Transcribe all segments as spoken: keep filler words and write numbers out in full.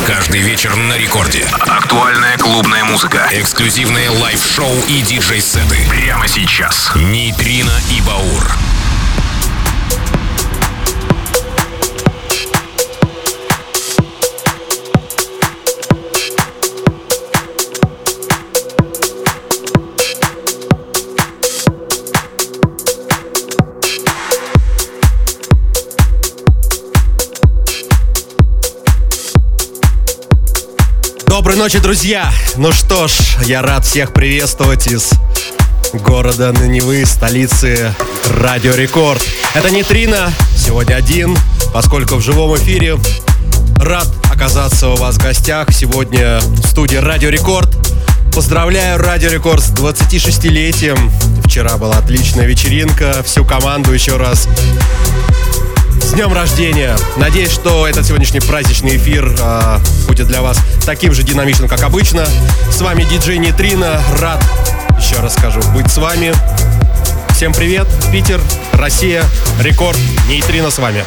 Каждый вечер на рекорде. Актуальная клубная музыка. Эксклюзивные лайв-шоу и диджей-сеты. Прямо сейчас. Нейтрино и Баур. Доброй ночи, друзья! Ну что ж, я рад всех приветствовать из города Невы, столицы Радио Рекорд. Это Нейтрино, сегодня один, поскольку в живом эфире. Рад оказаться у вас в гостях сегодня в студии Радио Рекорд. Поздравляю Радио Рекорд с двадцатишестилетием. Вчера была отличная вечеринка, всю команду еще раз с днем рождения! Надеюсь, что этот сегодняшний праздничный эфир э, будет для вас таким же динамичным, как обычно. С вами диджей Нейтрино. Рад, еще раз скажу, быть с вами. Всем привет, Питер, Россия, Рекорд, Нейтрино с вами.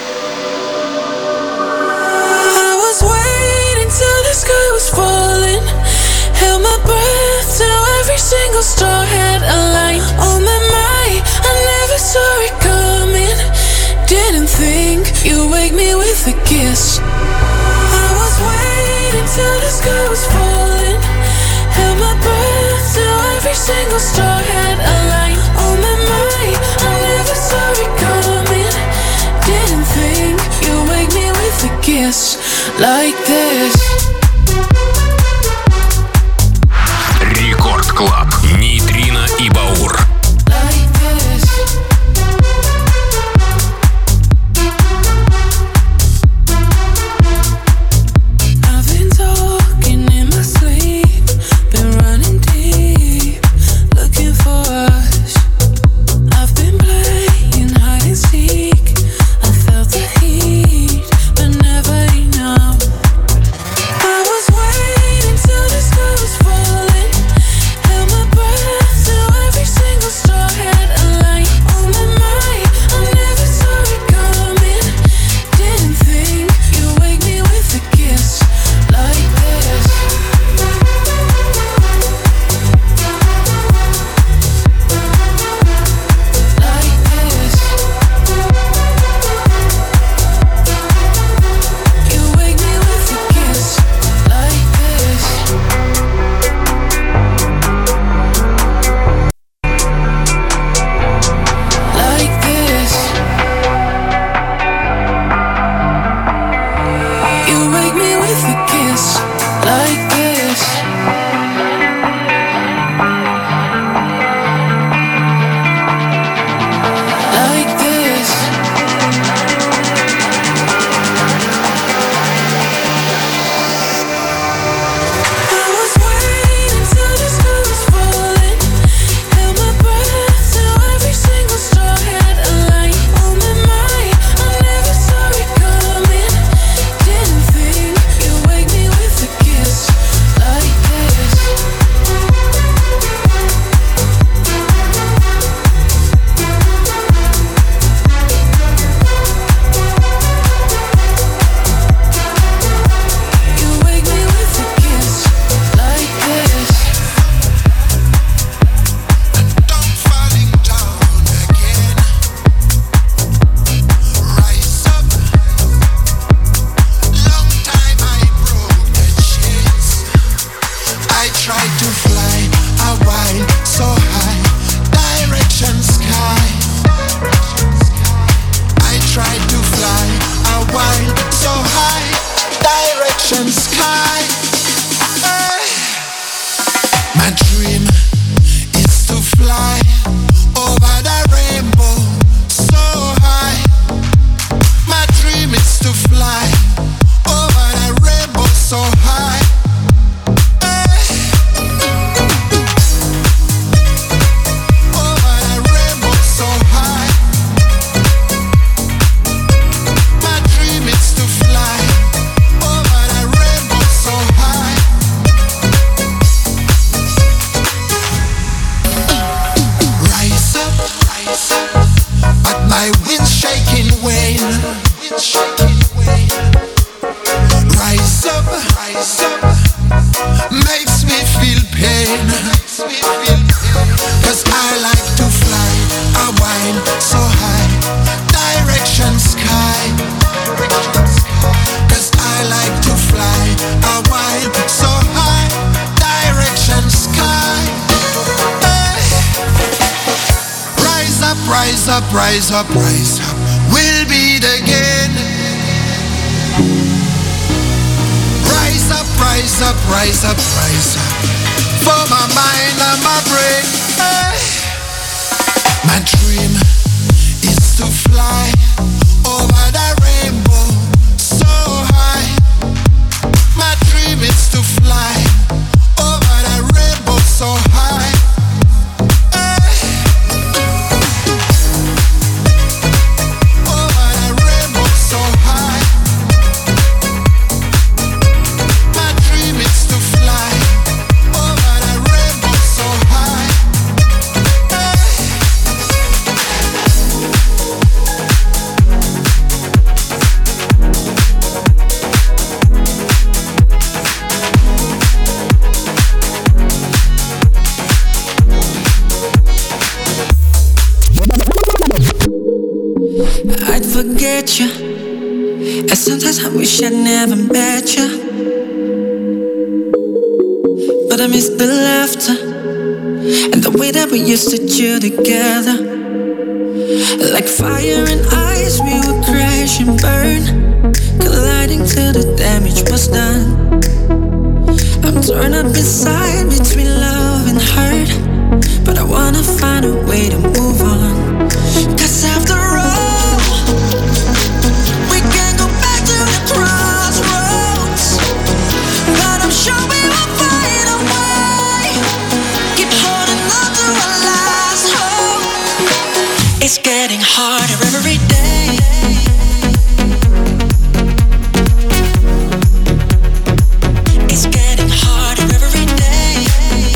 Didn't think you'd wake me with a kiss. I was waiting till the sky was falling. Held my breath till every single star had a line. On my mind, I never saw it coming. Didn't think you'd wake me with a kiss like this. Рекорд Клаб. Нейтрино и Баур. I up, rise up, rise up. We'll beat again. Rise up, rise up, rise up, rise up. For my mind and my brain. Hey. My dream is to fly over the rainbow so high. My dream is to fly over the rainbow so high. Forget you, and sometimes I wish I never met you. But I miss the laughter and the way that we used to chill together. Like fire and ice, we would crash and burn, colliding till the damage was done. I'm torn up inside between love and hurt, but I wanna find a way to move on. Cause after all, crossroads, but I'm sure we will find a way. Keep holding on to our last hope. It's getting harder every day. It's getting harder every day.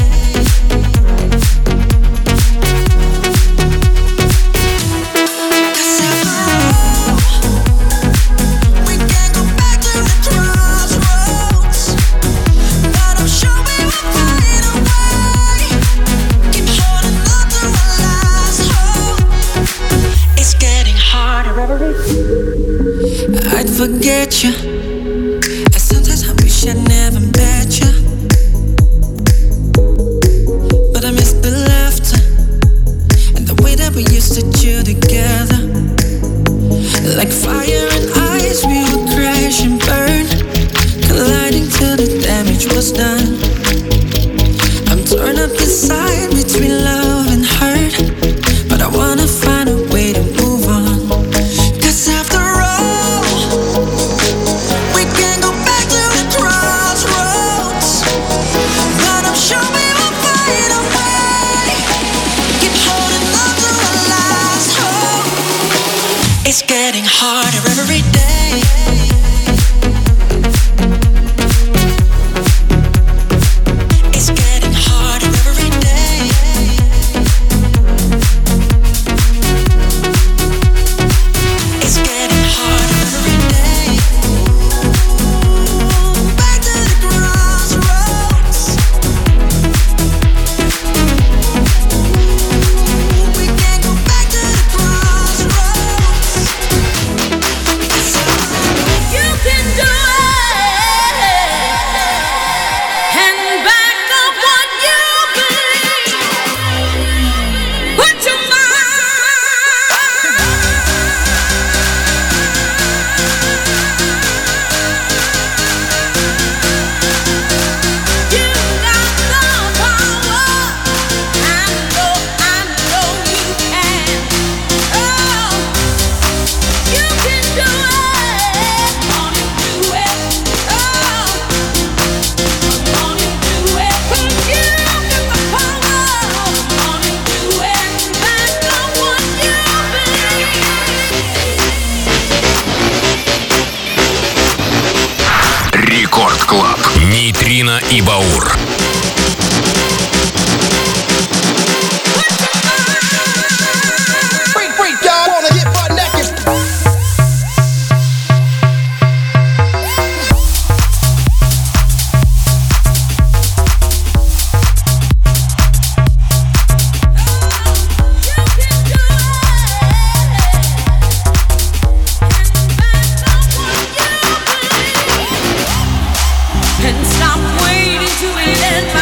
Cause after all, we can't go back to the crossroads, but I'm sure we will find a way. Keep holding on to our last hope. It's getting harder every day. I'd forget you, and sometimes I wish I never met you. But I miss the laughter and the way that we used to chill together. Like fire and ice, we would crash and burn, colliding till the damage was done. I'm torn up inside between love and hurt, but I wanna find a way to move on. Cause after all, we can't go back to the crossroads, but I'm sure we will find a way. Keep holding on to our last hope. It's getting harder every day. It's getting harder every day. It's getting harder every day. Back to the crossroads. We can't go back to the crossroads. You can do it, and back up what you believe. Put your You got the power. I know, I know you can. Oh, you can do it. Gonna do it. Oh, gonna do it. 'Cause you got the power. Gonna do it. Back on what you believe. Рекорд Клаб. Нейтрино и Баур. Freak, freak, y'all wanna get butt naked. And stop waiting to end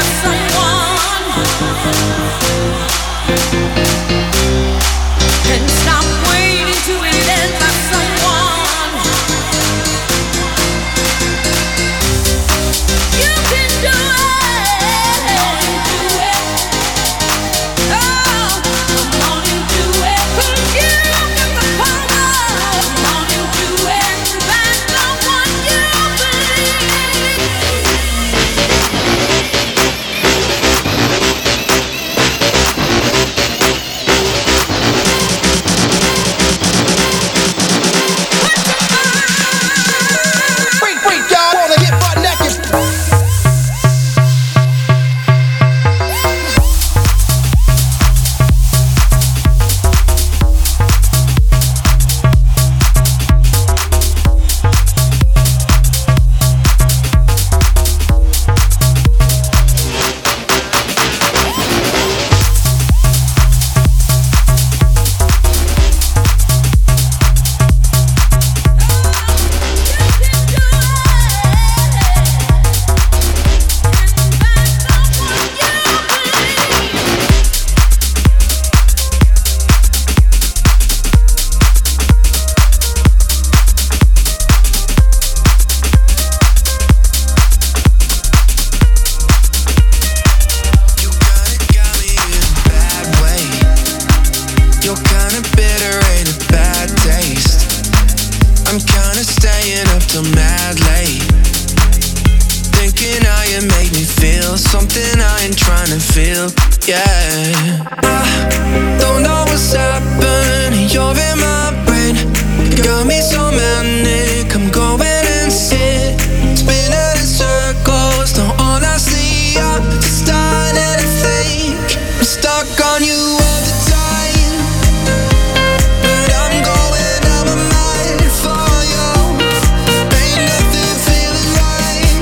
you make me feel something I ain't trying to feel. Yeah, I don't know what's happening. You're in my brain, got me so manic. I'm going insane, spinning in circles. No, honestly, I'm just starting to think I'm stuck on you all the time, but I'm going out my mind for you. Ain't nothing feeling right,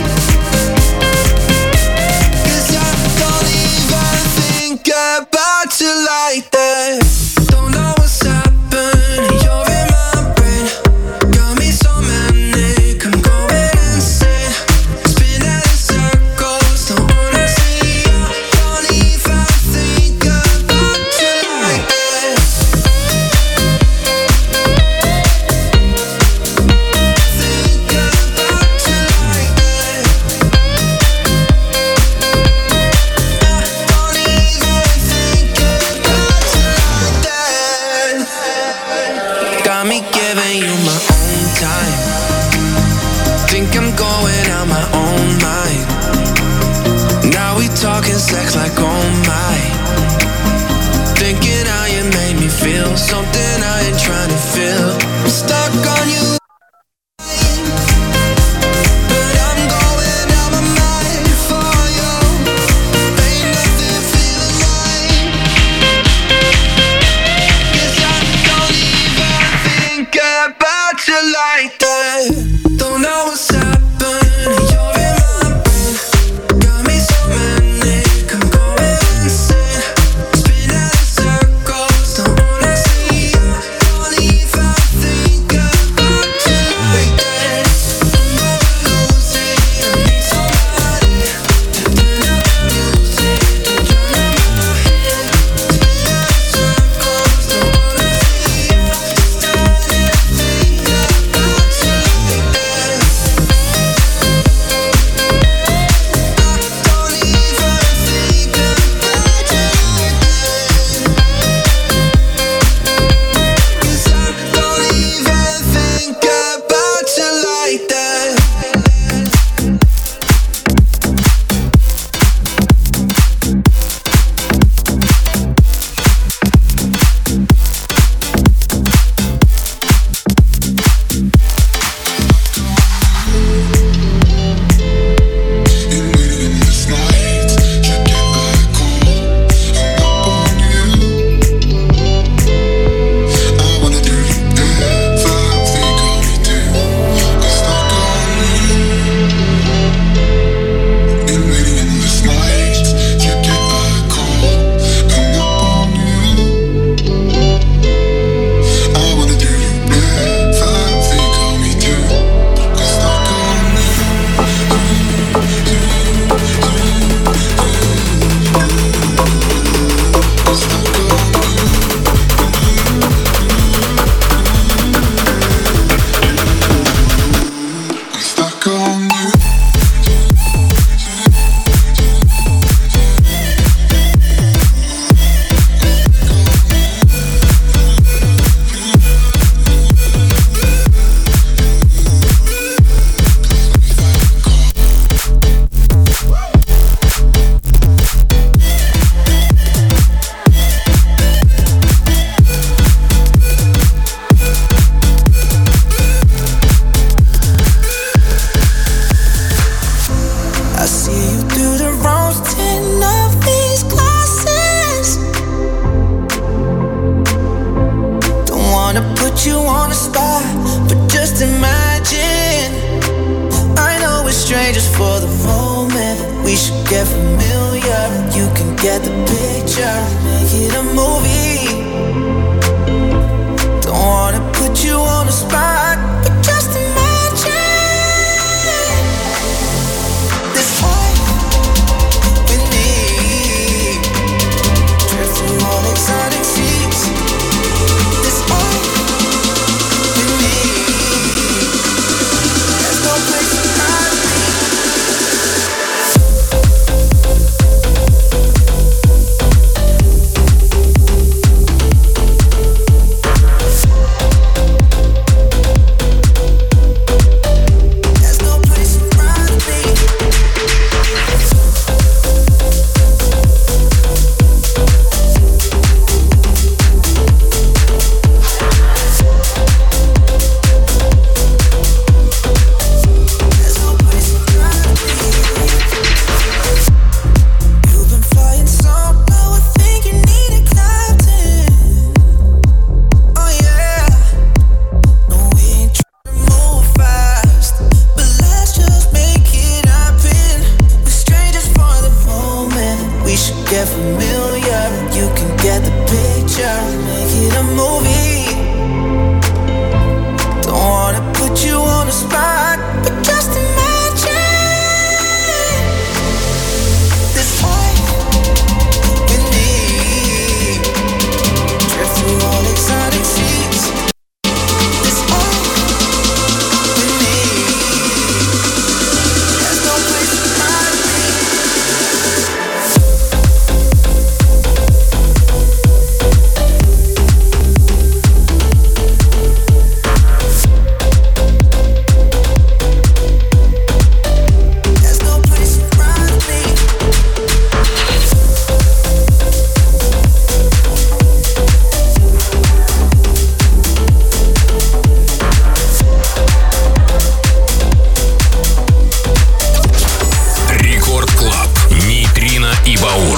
'cause I don't even think about you like that. Don't know what's happening. You're in my brain, got me so manic. I'm going insane, spinning in circles. Don't wanna see you. Don't even think about you like that. Think about you like that. Don't even think about you like that. Got me giving you my own time. Think I'm going out my own mind. Now we talking sex like oh my. Thinking how you made me feel something I ain't trying to feel. I'm stuck on you, but I'm going out my mind for you. Ain't nothing feeling right, 'cause I don't even think about you like that. Don't know what's happening. You're in my brain, got me so manic. I'm going insane, spinning in circles. Don't wanna see you. Don't even think about you like that. I'm gonna lose it. I need somebody to turn up the music, to drown out my head. Spinning in circles. Don't wanna see you. Starting to think about you like that. Don't even think about you like that, 'cause I don't even think about you like that. I see you through the rose tint of these glasses. Don't wanna put you on the spot, but just imagine. I know we're strangers for the moment, but we should get familiar. You can get the picture, make it a movie. Don't wanna put you on the spot, but just imagine this life with me, drifting on exotic seas. This life with me, there's no place to hide me. familiar. You can get the picture, make it a movie. Don't wanna put you on the spot, but just imagine this life with me. Drift through all exotic seas. This life with me. There's no place to hide me. Рекорд Клаб. Нейтрино и Баур.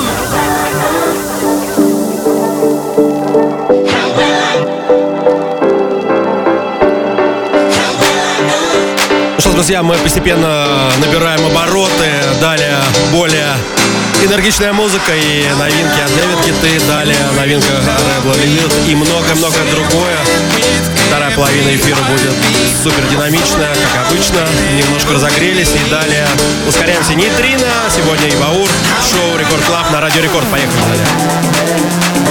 Ну что ж, друзья, мы постепенно набираем обороты. Далее более энергичная музыка и новинки от Дэвид Киты. Далее новинка Red Lilith и многое-многое другое. Вторая половина эфира будет супер динамичная, как обычно. Немножко разогрелись и далее ускоряемся. Нейтрино, сегодня и Баур. Шоу Рекорд Клаб на Радио Рекорд. Поехали далее.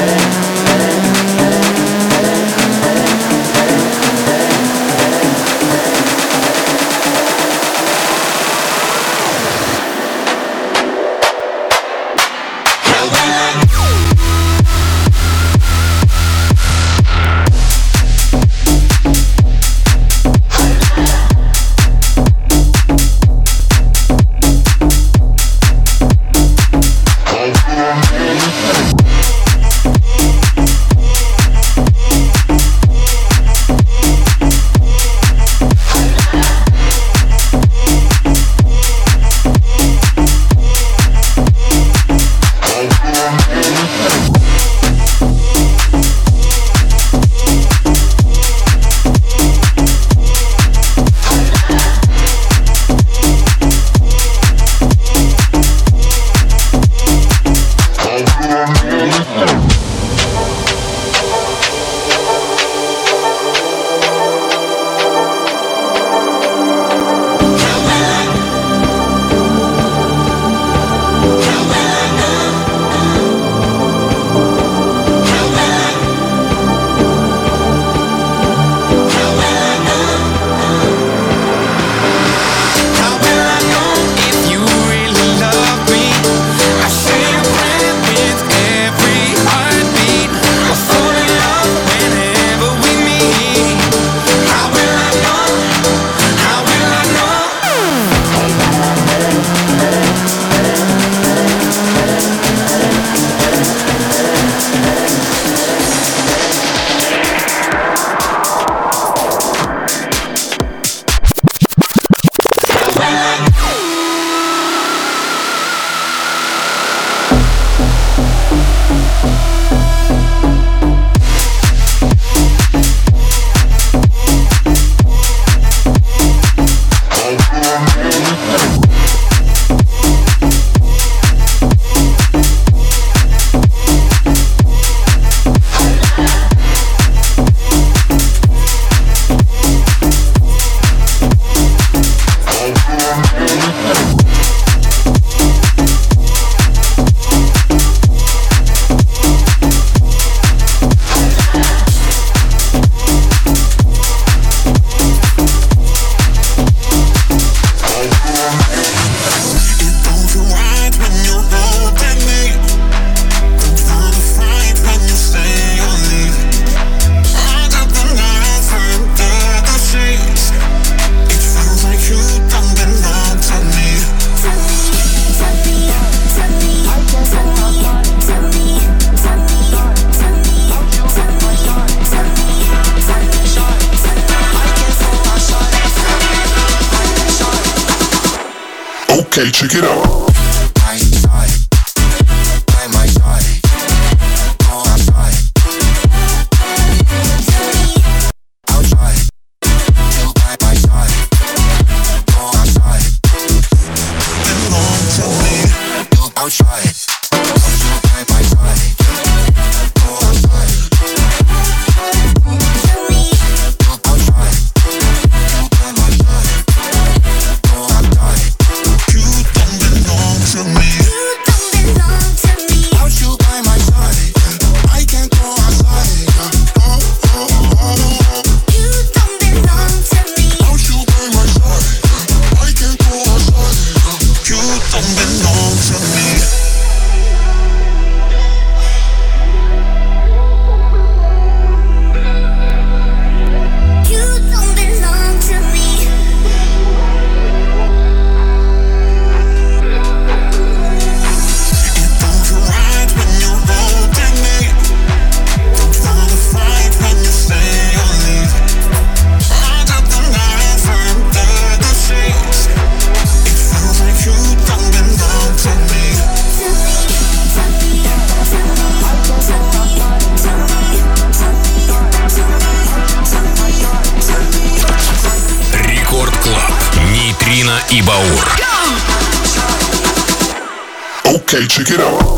Okay, check it out. I'll try it. и Баур. Okay, check it out.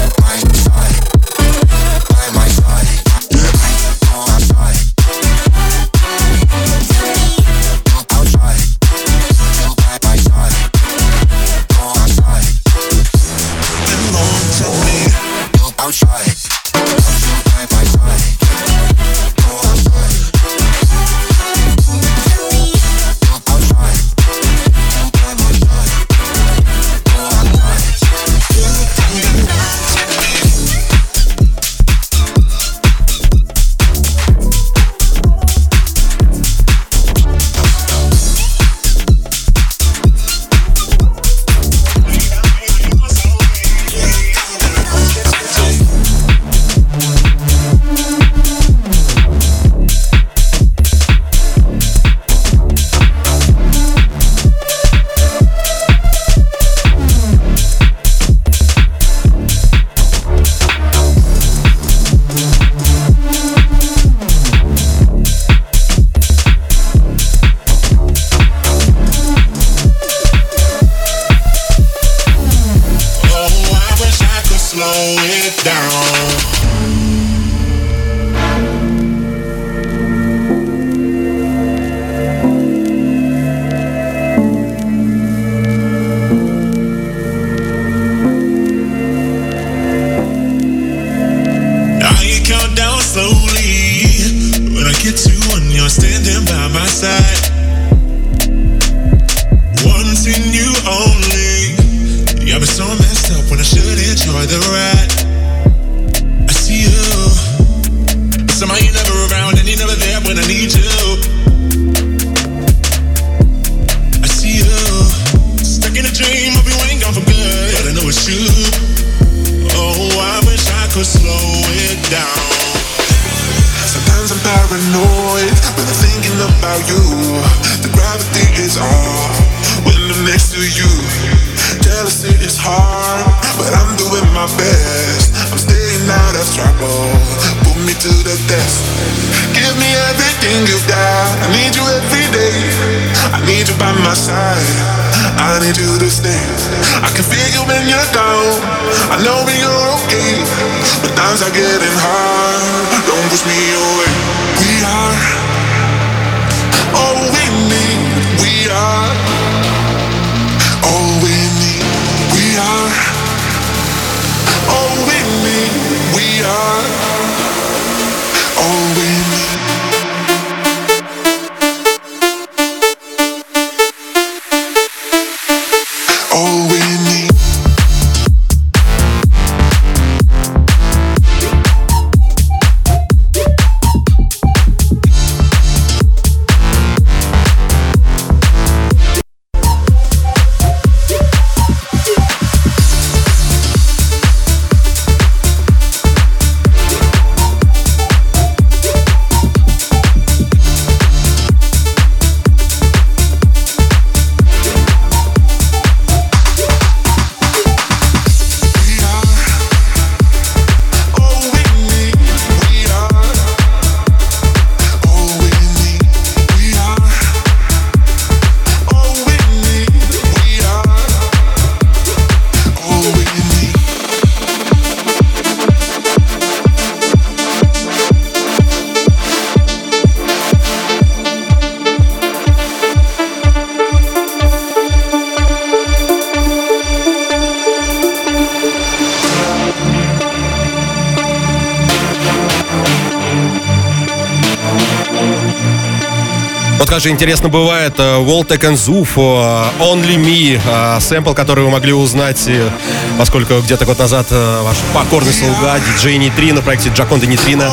Вот как же интересно бывает, Волтек and Zuf, Only Me, сэмпл, который вы могли узнать, поскольку где-то год назад ваш покорный слуга, диджей Нейтрино, в проекте Джаконда Нейтрино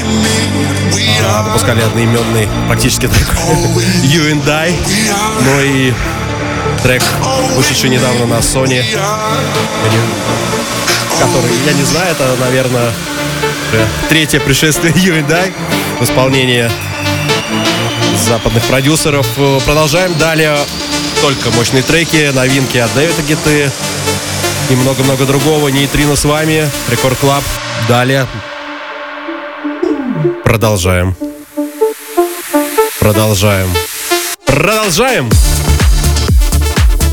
выпускали одноименный практически трек You and I, ну и трек, вышедший недавно на Sony, который, я не знаю, это, наверное, третье пришествие You and I в исполнении западных продюсеров. Продолжаем далее. Только мощные треки, новинки от Дэвида Гетты и много-много другого. Нейтрино с вами, Рекорд Клаб. Далее продолжаем. Продолжаем. Продолжаем.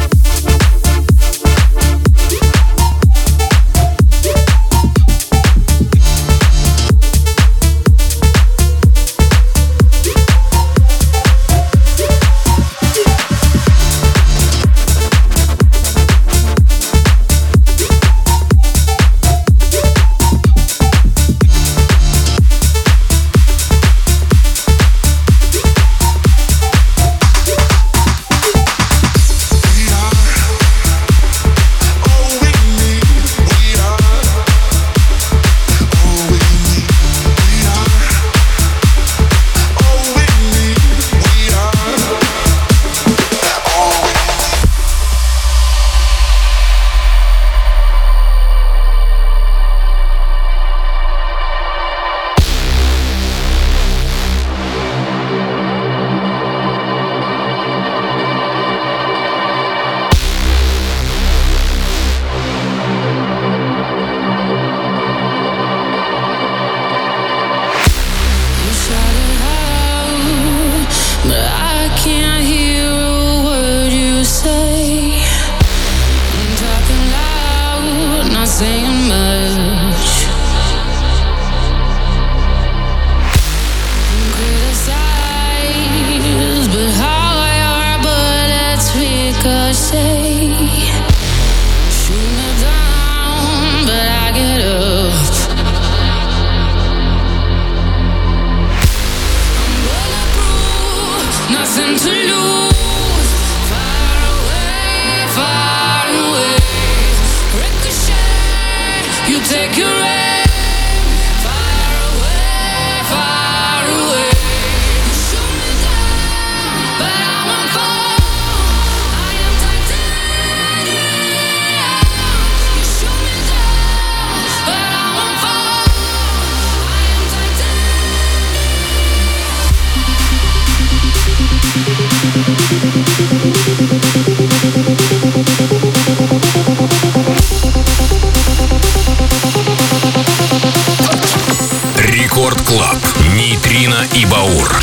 saying much. Criticize, but how your bullets ricochet. Shoot me down, but I get up. I'm bulletproof, nothing to lose. Far away, far away. Ricochet, you take your aim. Far away, far away. You shoot me down, but I won't fall. I am titanium. You shoot me down, but I won't fall. I am Рекорд Клаб. Нейтрино и Баур.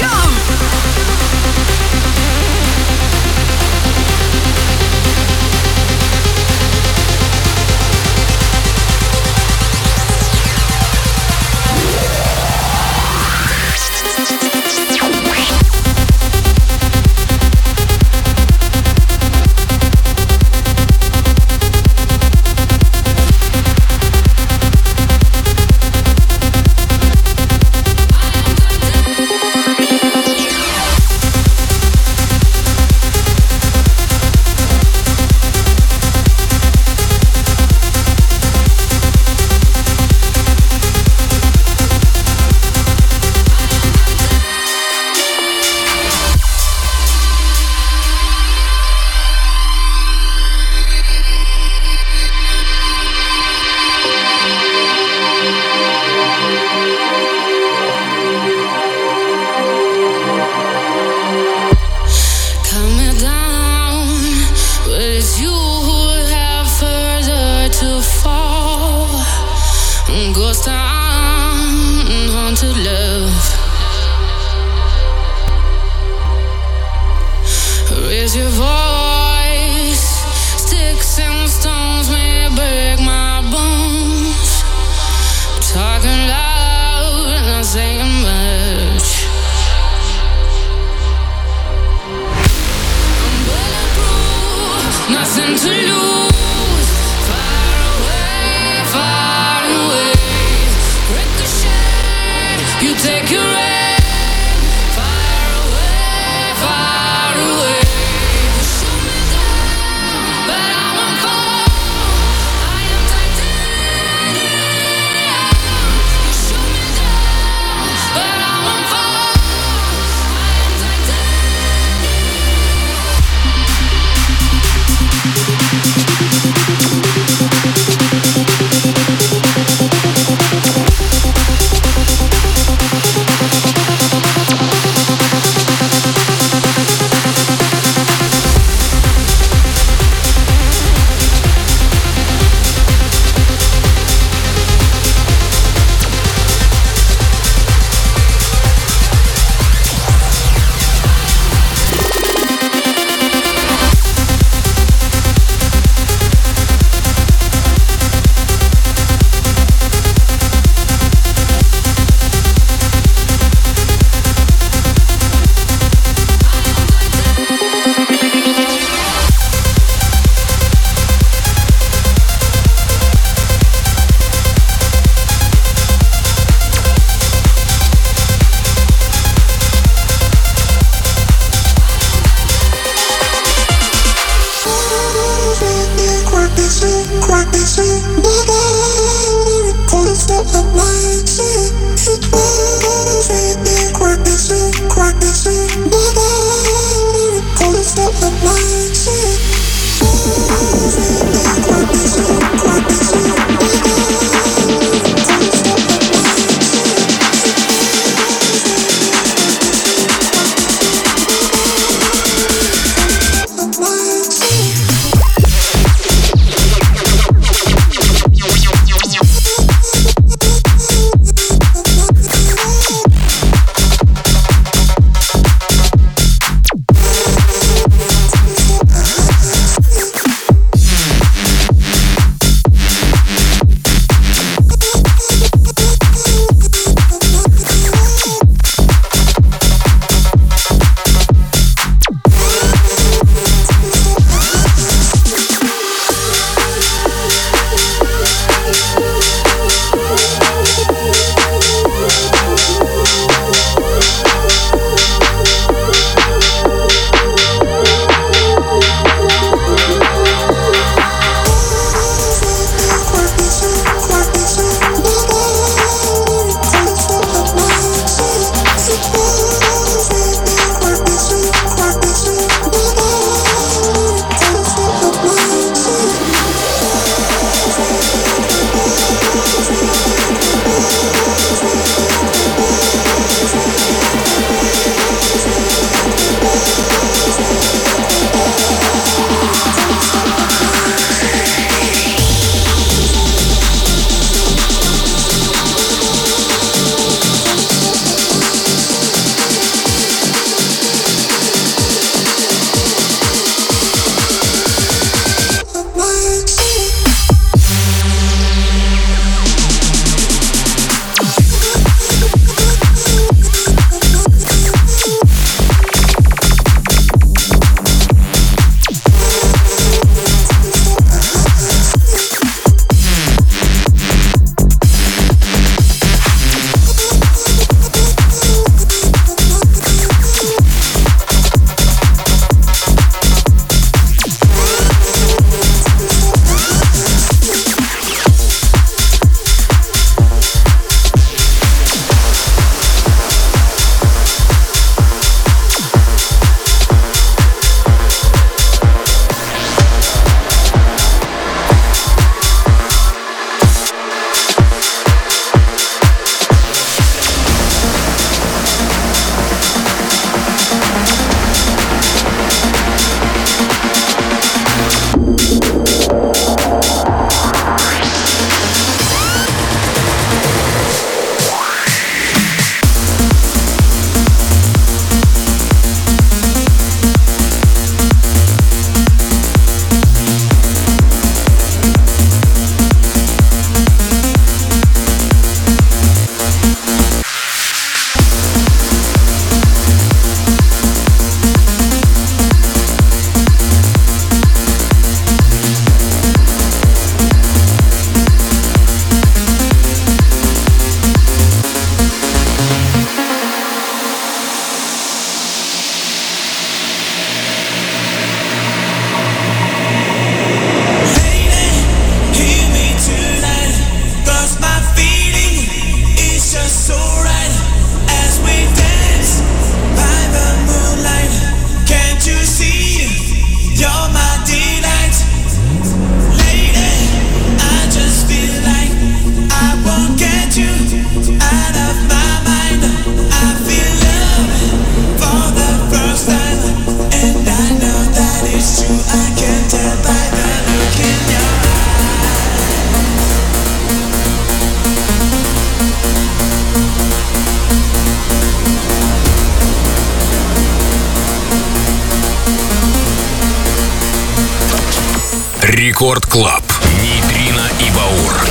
Рекорд Клаб. Нейтрино и Баур.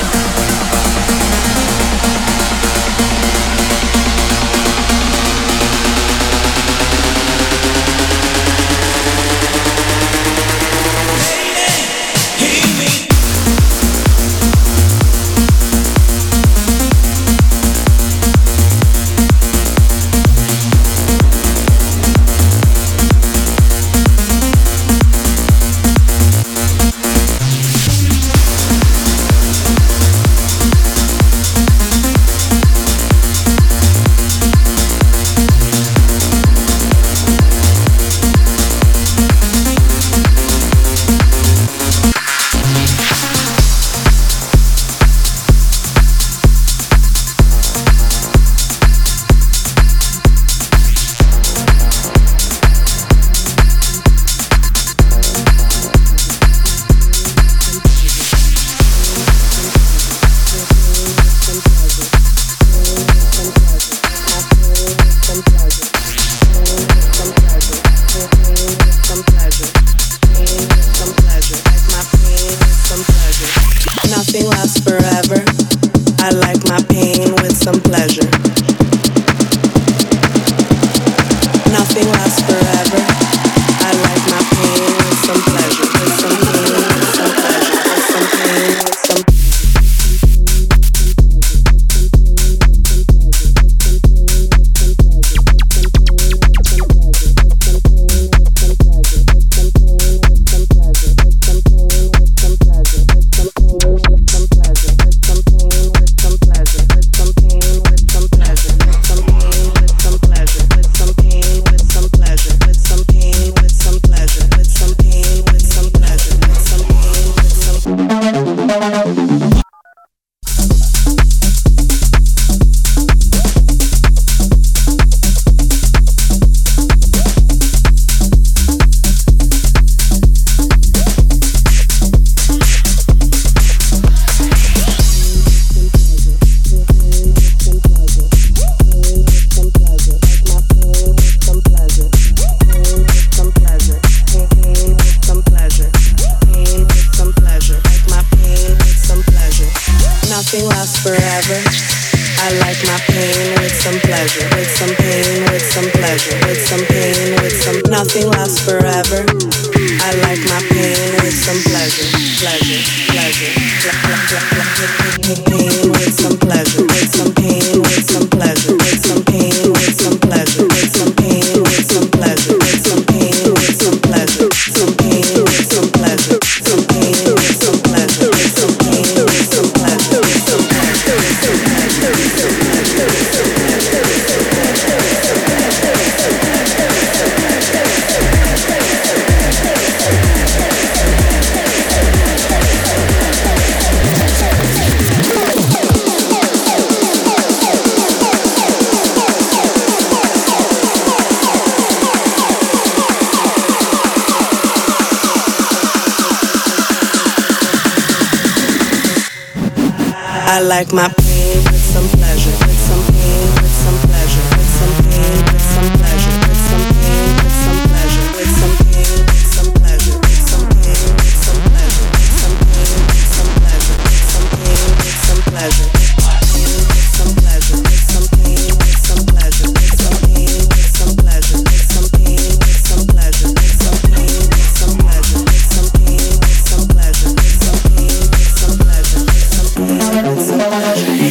I like my pain with some pleasure, with some pain, with some pleasure, with some pain, with some pleasure, with some pain, with some pleasure, with some pain, with some pleasure, with some pain, with some pleasure, with some pain, with some pleasure, with some pain, with some pleasure, with some pleasure, with some pain, with some pleasure, with some pain, with some pleasure, with some pain, with some pleasure, with some pain, with some pleasure, with some pain, with some pleasure, with some pain, with some pleasure, with some pain, with some pleasure.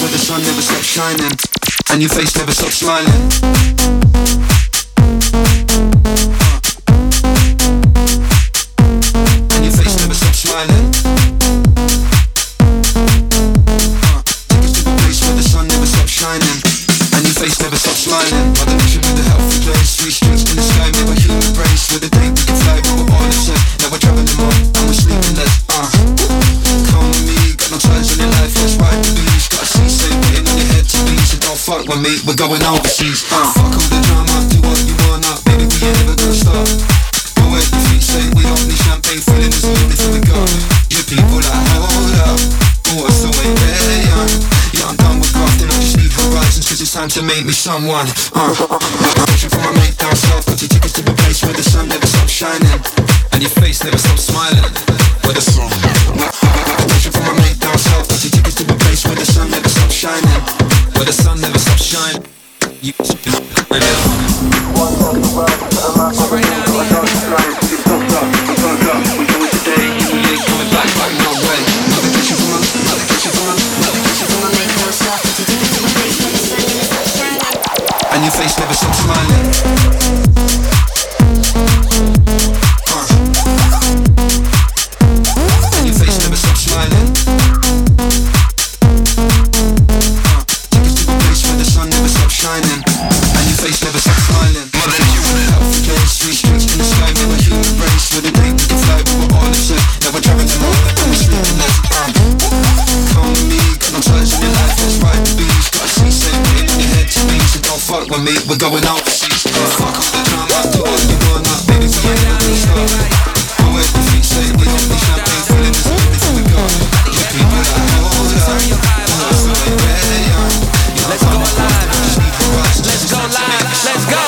where the sun never stops shining, and your face never stops smiling. And your face never stops smiling. Take us to a place where the sun never stops shining, and your face never stops smiling. By the nation with a healthy place, three streets in the sky, made by human race. With a day we can fly, we were all the same. Now we're traveling more, and we're sleeping less. Uh. Come with me, got no ties on your life, let's ride the beach. Got a C-say waiting on your head to be, so don't fuck with me, we're going overseas. Uh. Fuck all the drama, do what you wanna, baby, we ain't never gonna stop. Go where your feet say, we don't need champagne, feeling is the only thing we got. Your people like, hold up, oh, it's the way they're young. Yeah, I'm done with grafting, I just need horizons, cause it's time to make me someone. Uh. Pushing for my mate down south, got your tickets to the place where the sun never stops shining, and your face never stops smiling. Where the sun Pushing for my mate down south, got your tickets to a place where the sun never stops shining, where the sun never stops shining. You right now. So right now, you fucked up, you fucked up. We going today, you ain't coming back, back no way. Another pushing for my, another pushing for my, another pushing for my mate down south, got your tickets to a place where the sun never stops shining, and your face never stops smiling. With me, we're going overseas. Fuck off the drama, do what you wanna, baby, we ain't never gonna stop. Go where your feet say, we don't need champagne, feeling is the only thing we got. Your people like, hold up, oh, it's the way they're young. Let's go live, let's go live, let's go.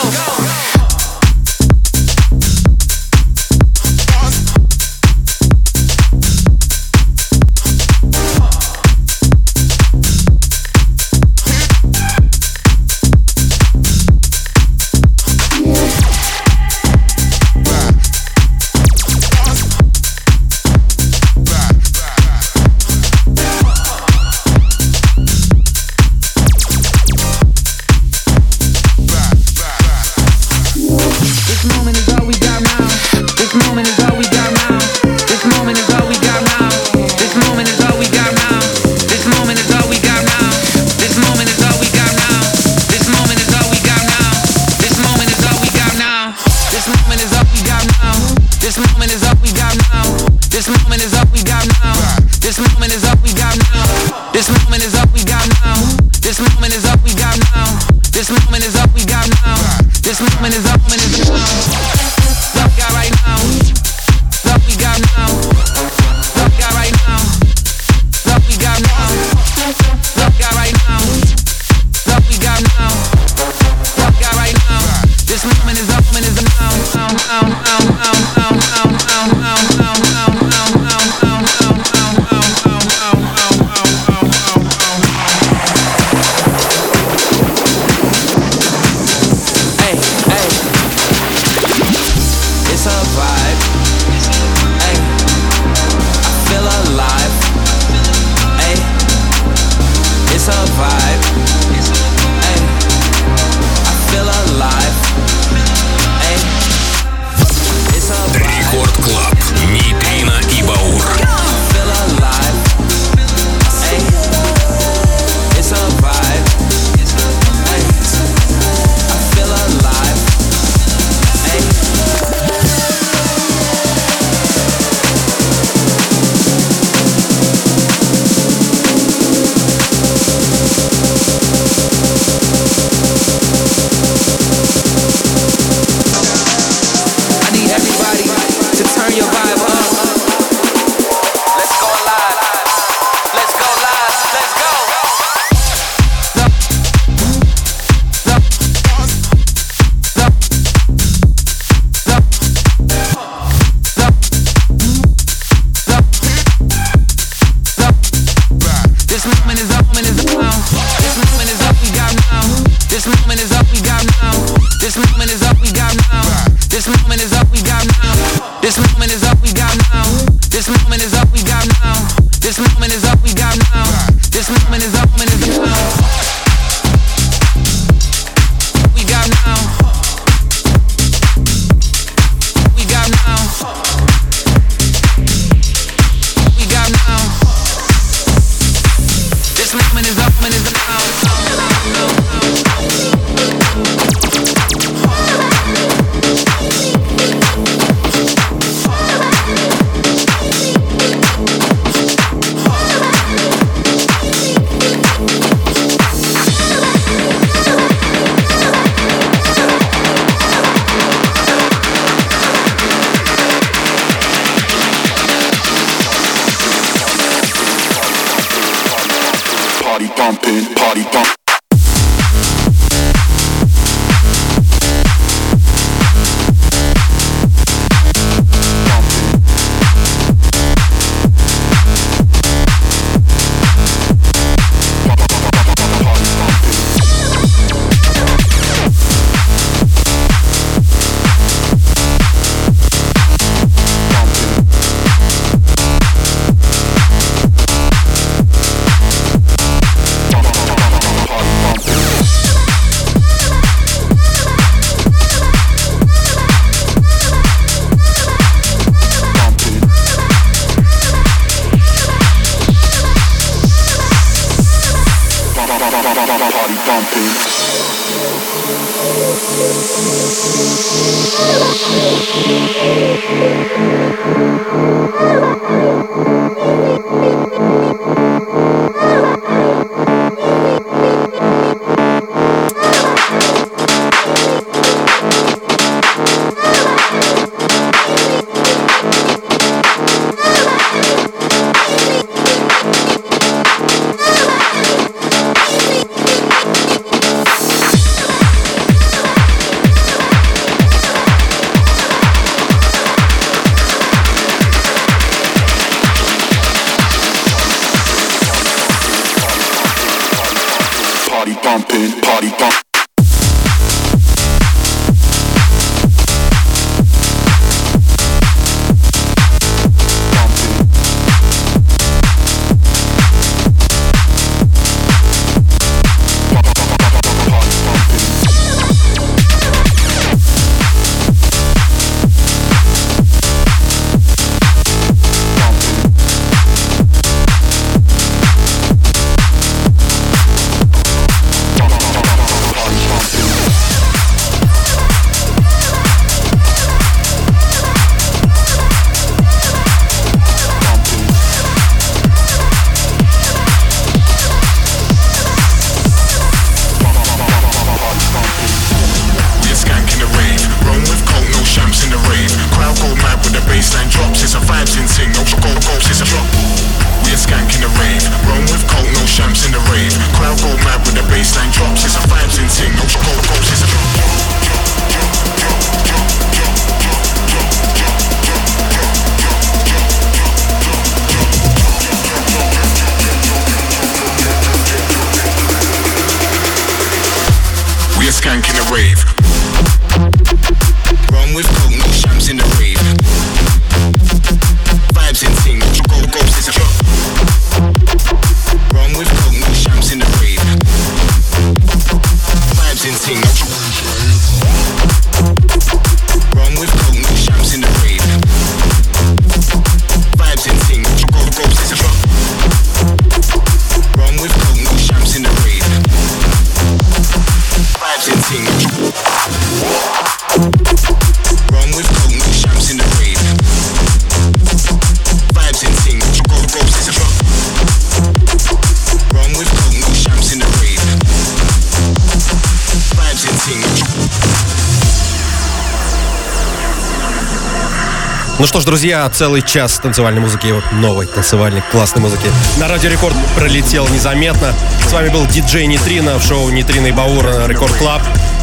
Ну что ж, друзья, целый час танцевальной музыки, новой танцевальной классной музыки на Радио Рекорд пролетел незаметно. С вами был диджей Нейтрино в шоу Нейтрино и Баур на Рекорд Клаб.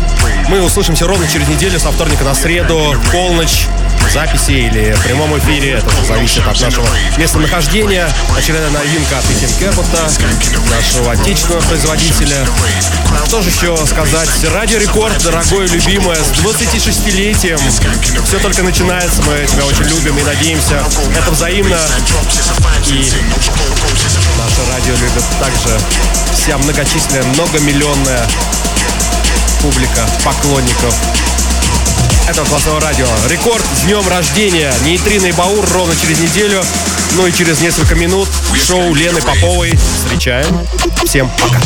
Мы услышимся ровно через неделю, со вторника на среду, в полночь, в записи или в прямом эфире. Это зависит от нашего местонахождения. Очередная новинка от Этим Кэпота, нашего отечественного производителя. Что же еще сказать? Радио Рекорд, дорогое, любимое, с двадцатишестилетием. Все только начинается, мы тебя очень любим и надеемся. Это взаимно. И Наше радио любит также вся многочисленная, многомиллионная публика поклонников этого классного радио. Рекорд с днем рождения. Нейтрино и Баур ровно через неделю. Ну и через несколько минут шоу Лены Поповой. Встречаем. Всем пока.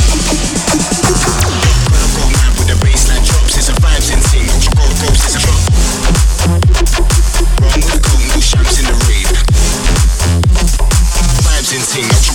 Insane.